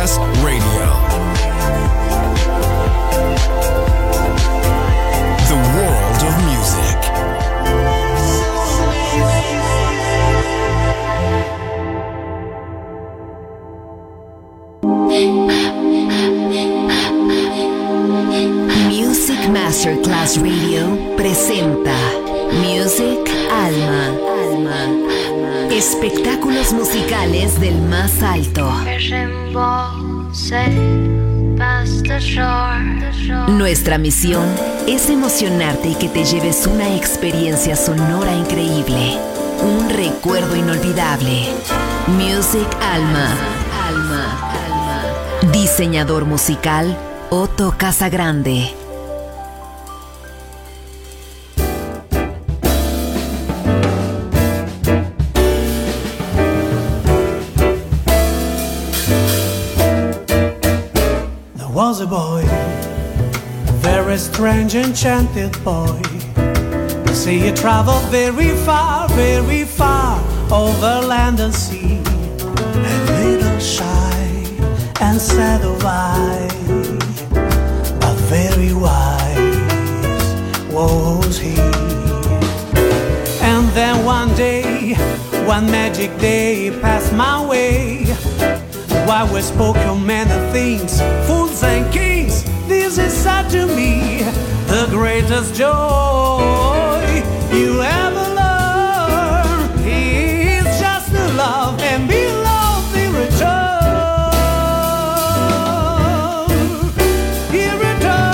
Masterclass Radio. The world of music. Music Masterclass Radio presenta Music Alma. Espectáculos musicales del más alto. Nuestra misión es emocionarte y que te lleves una experiencia sonora increíble, un recuerdo inolvidable. Music Alma. Diseñador musical Otto Casagrande. Was a boy, very strange, enchanted boy. See, he traveled very far over land and sea. A little shy and sad of eye, but very wise was he. And then one magic day passed my way. While we spoke of many things, fools and kings, this is said to me, the greatest joy you ever learn is just to love and be loved in return. In return.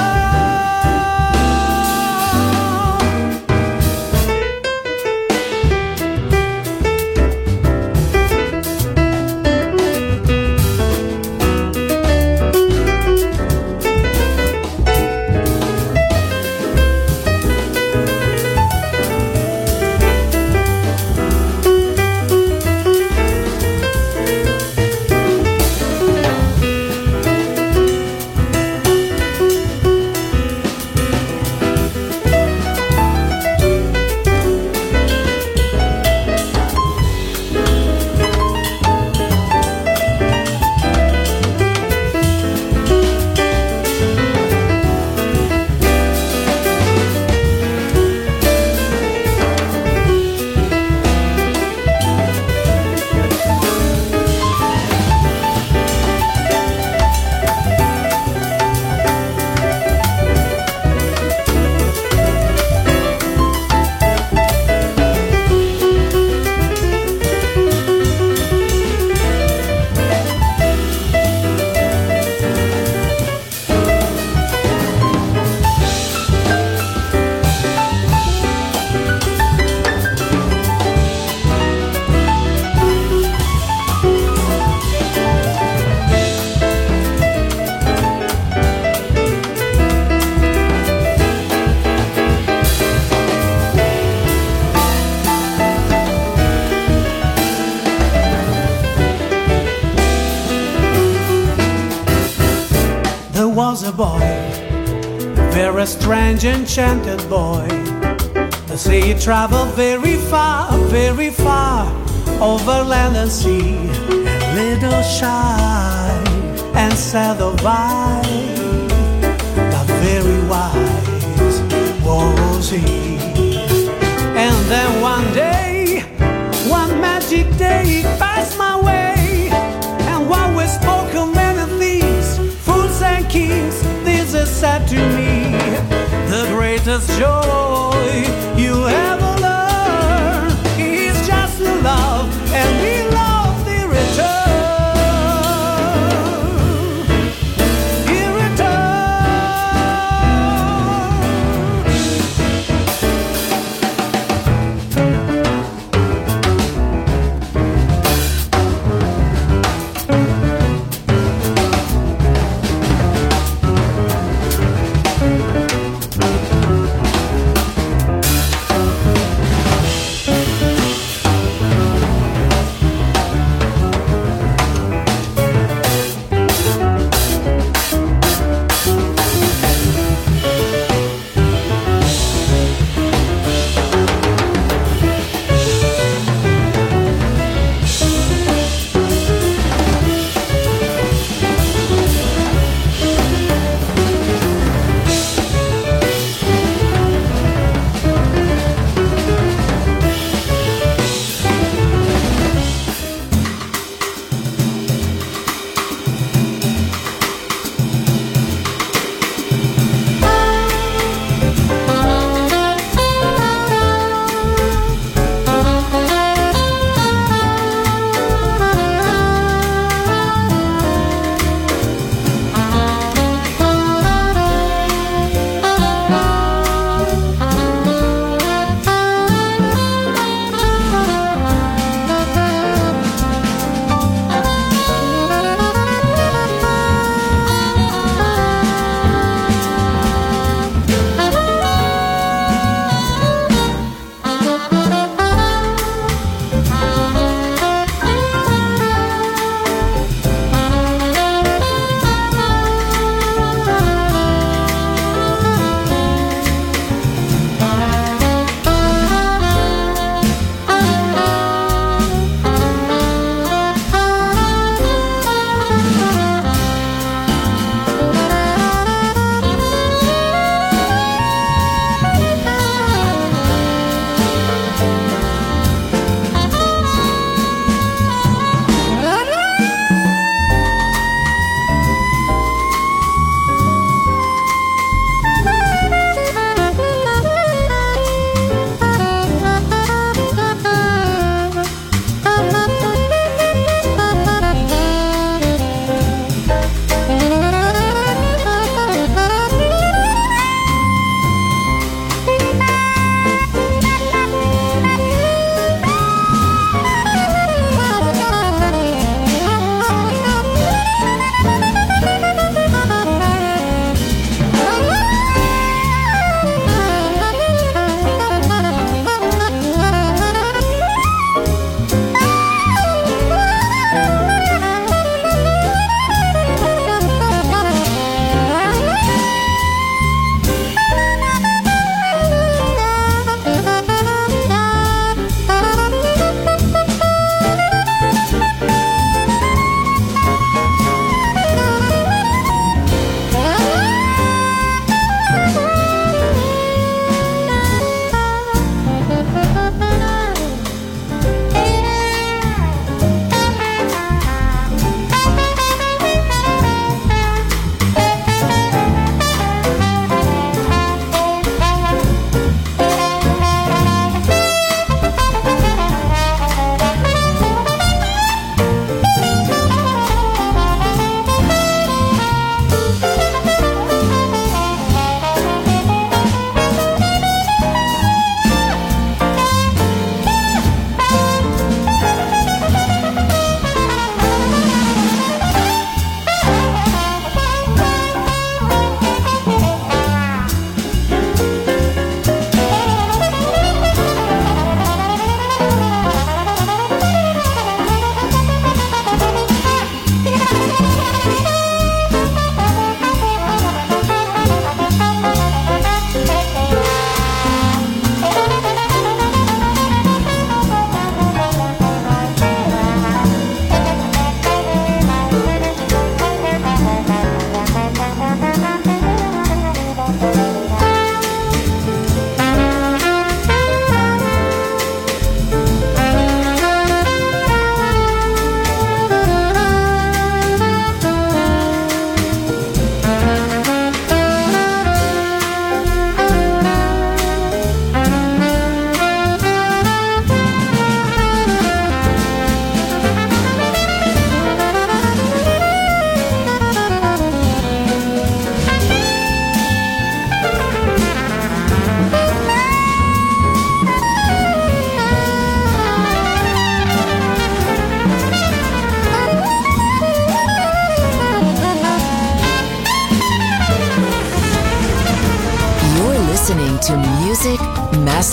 Was a boy, very strange, enchanted boy. The sea traveled very far over land and sea. A little shy and sad of eye, but very wise was he. And then one magic day passed my way, and while we spoke of many things, fools and kings, this is said to me, the greatest joy you ever learn is just to love and be loved in return. In return.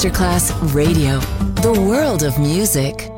Masterclass Radio, the world of music.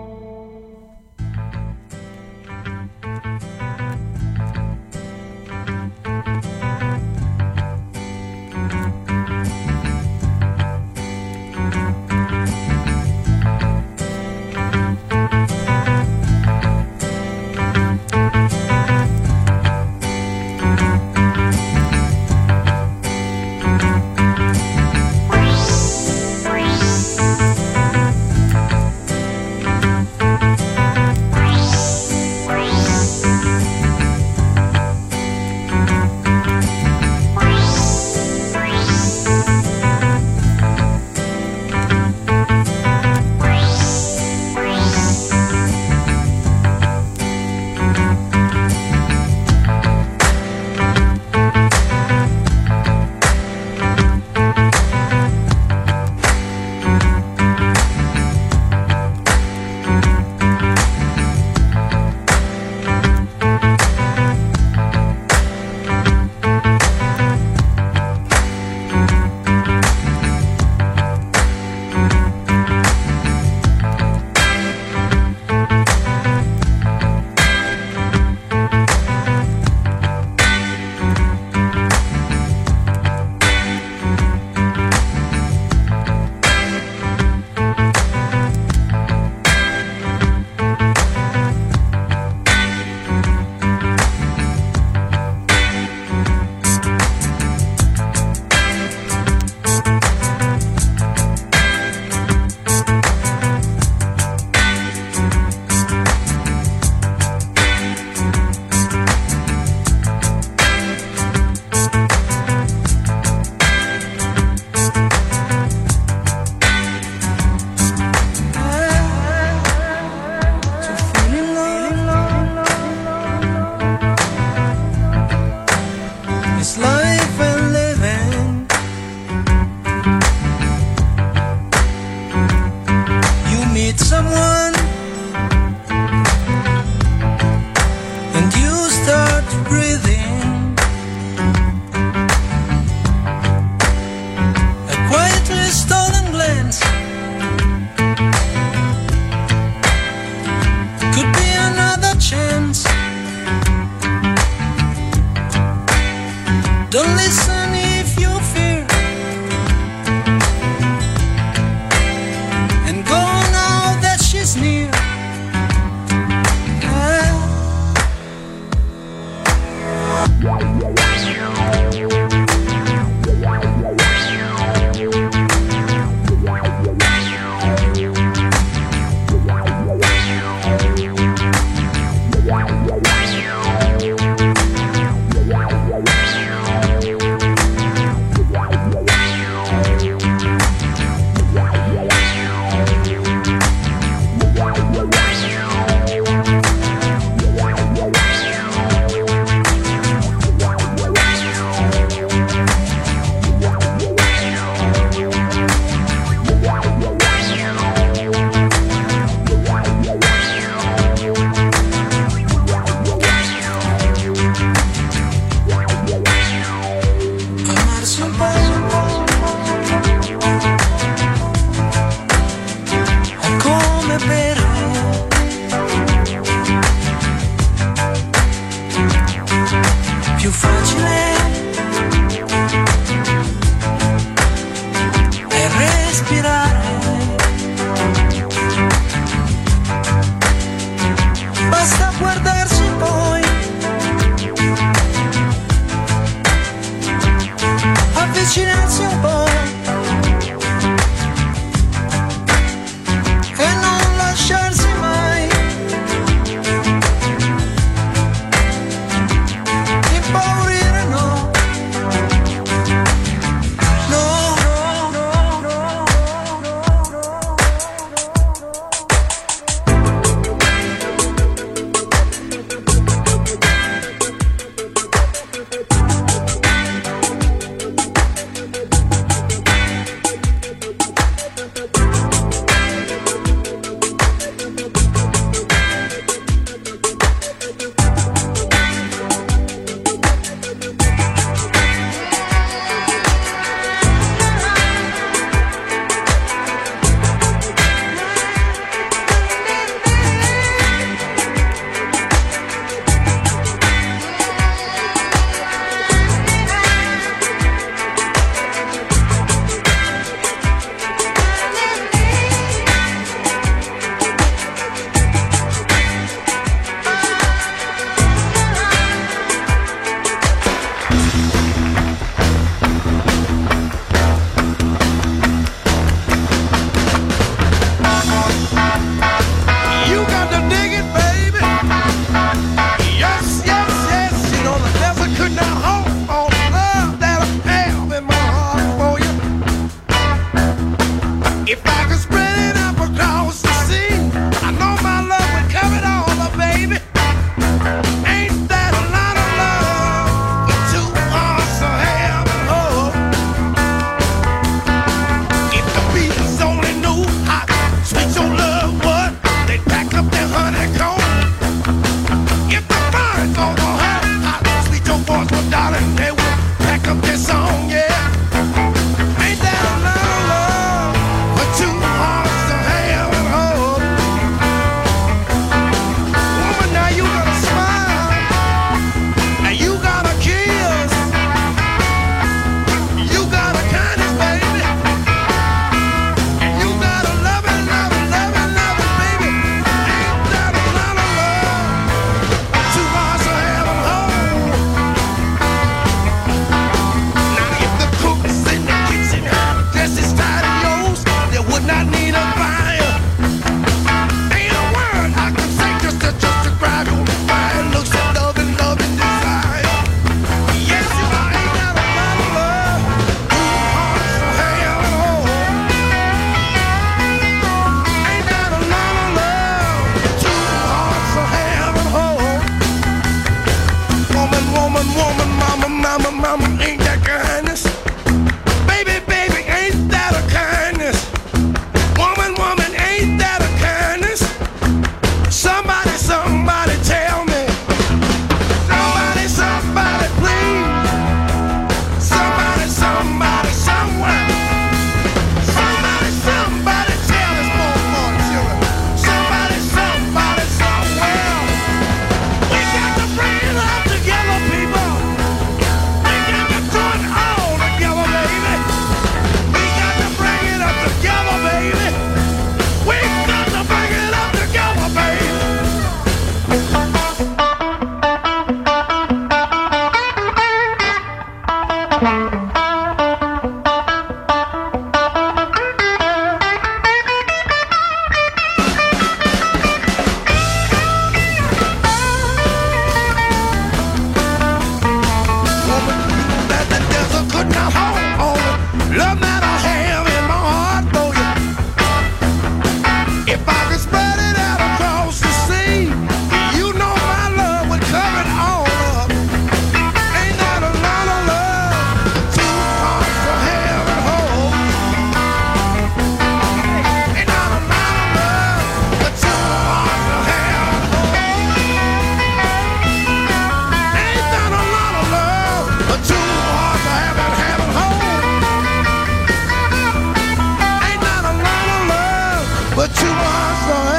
but you are so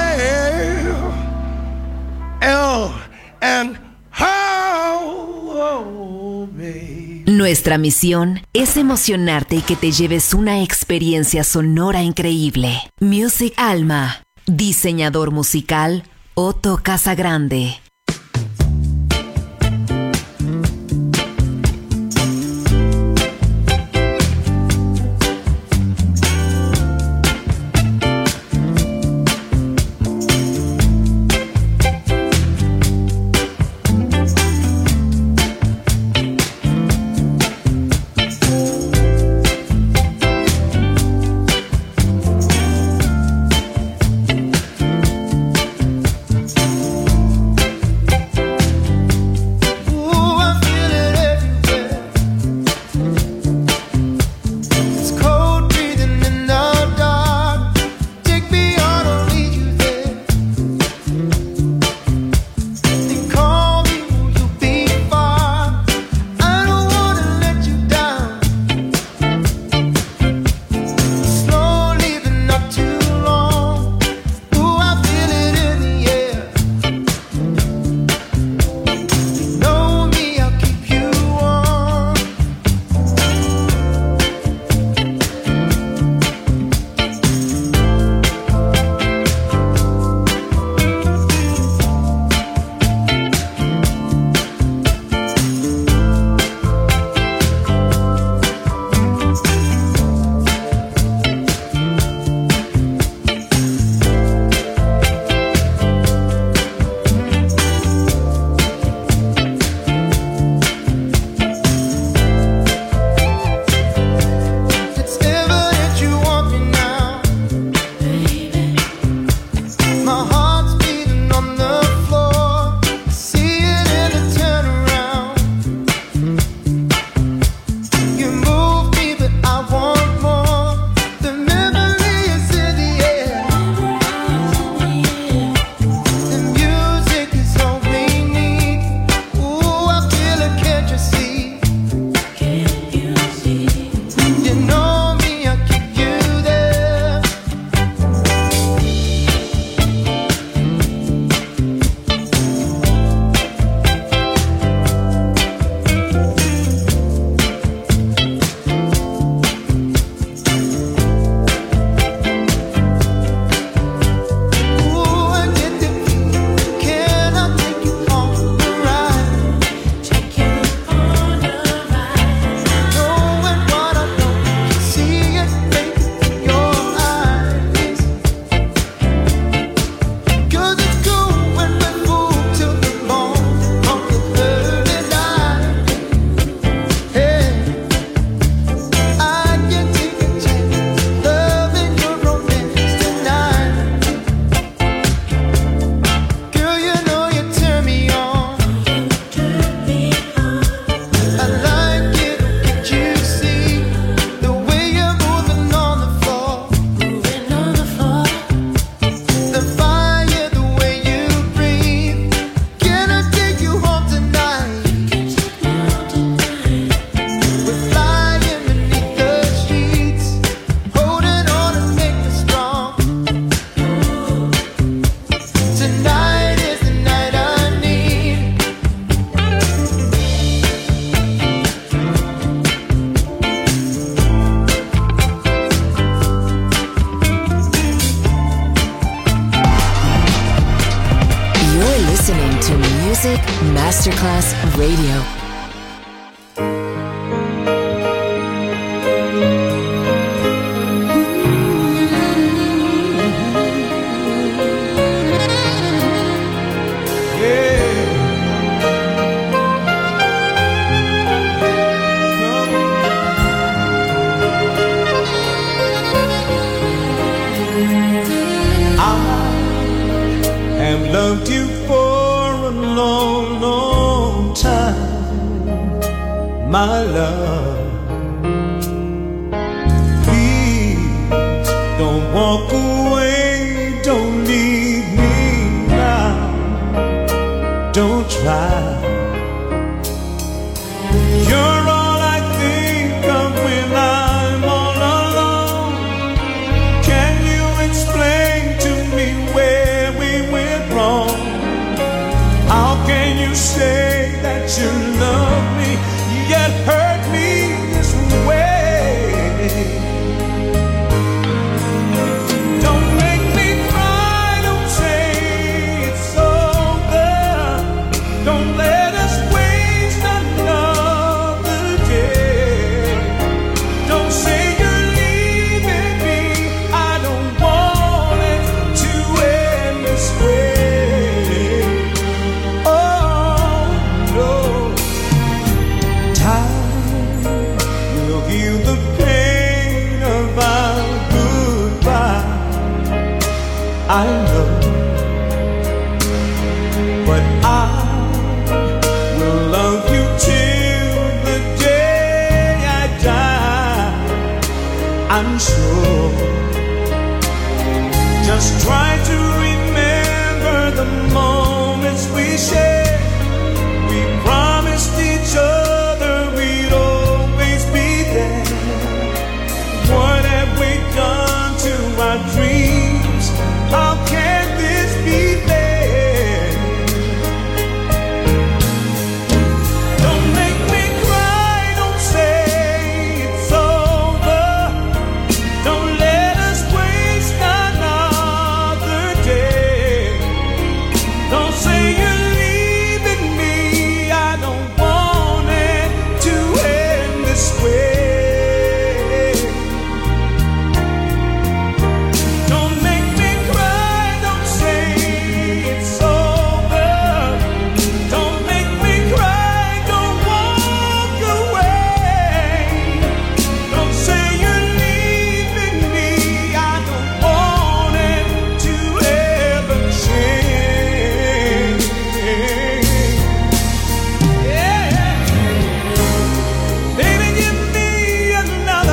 L and how, baby. Nuestra misión es emocionarte y que te lleves una experiencia sonora increíble. Music Alma. Diseñador musical Otto Casagrande. Music Masterclass Radio. Loved you for a long, long time, my love. Please don't walk away, don't leave me now, don't try. You're all I think of when I'm all alone. Can you explain I know, but I will love you till the day I die. I'm sure. Just try to remember the moments we shared. We promised each other we'd always be there. What have we done to our dreams? How can this be fair? Don't make me cry, don't say it's over. Don't let us waste another day. Don't say you're leaving me, I don't want it to end this way. Don't make me cry, don't say it's over. Don't make me cry, don't walk away. Don't say you're leaving me, I don't want it to ever change. Yeah. Baby, give me another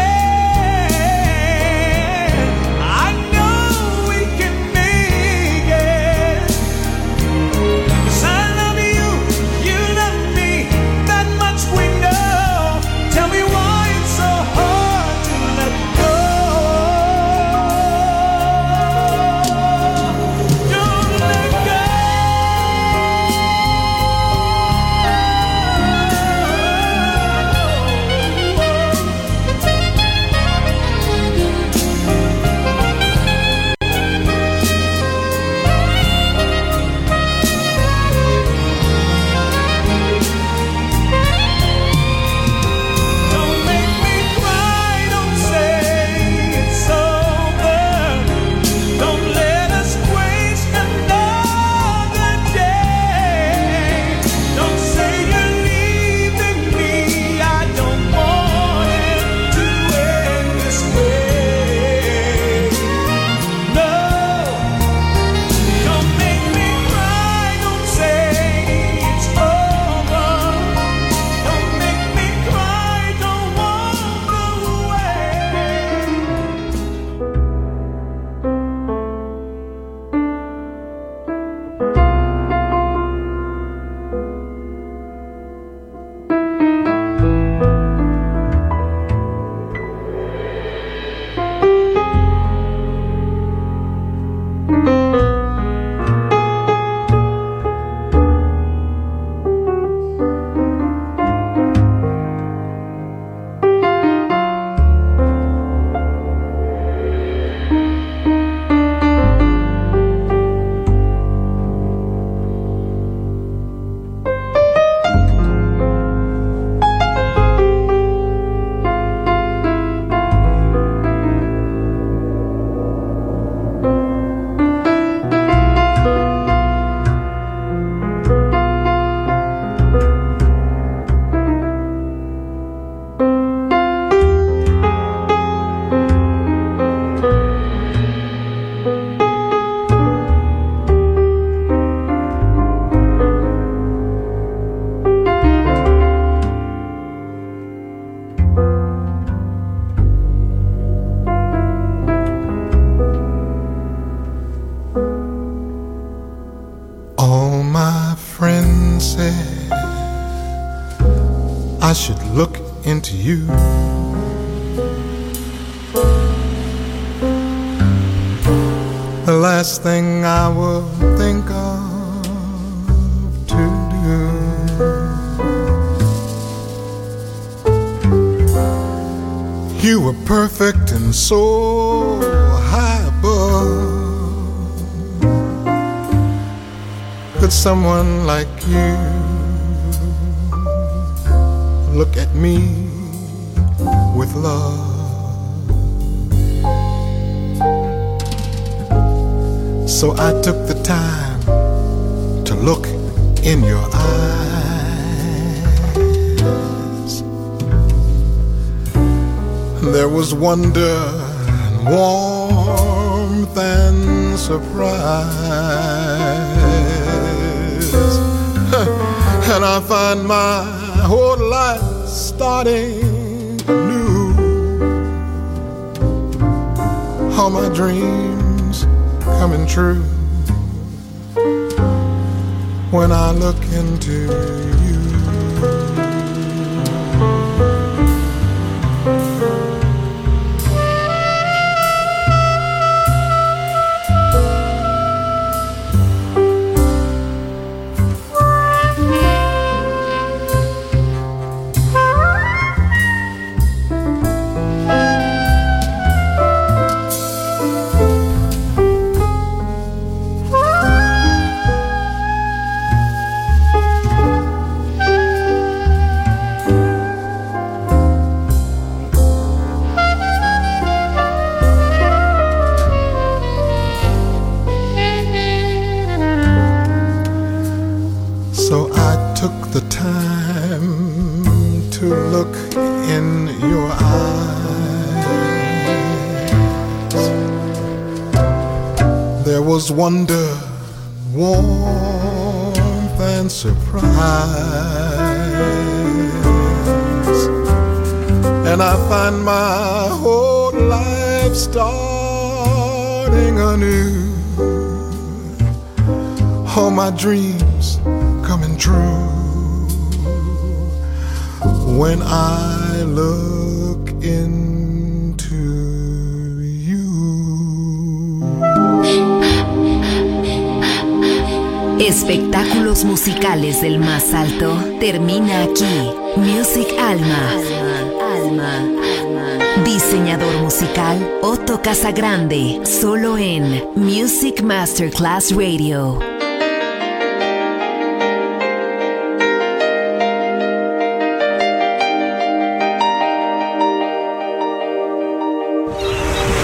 chance. I know we can make it. 'Cause I love you, you love me, that much we know. Tell me why it's so hard to let go. Don't let go. Don't make me cry, don't say it's over. Don't let us waste another day. Don't say you're leaving me, I don't want it to end this way. No, don't make me cry, don't say it's over. Don't make me cry, don't walk away. All my friends said I should look into you. The last thing I will think of to do. You were perfect and so high above. Could someone like you look at me with love? So I took the time to look in your eyes. There was wonder and warmth and and surprise. And I find my whole life starting anew. All my dreams coming true when I look into you. So I took the time to look in your eyes. There was wonder, warmth and surprise. And I find my whole life starting anew. All my dreams coming true when I look into you. Espectáculos musicales del más alto termina aquí. Music Alma. Diseñador musical Otto Casagrande, solo en Music Masterclass Radio.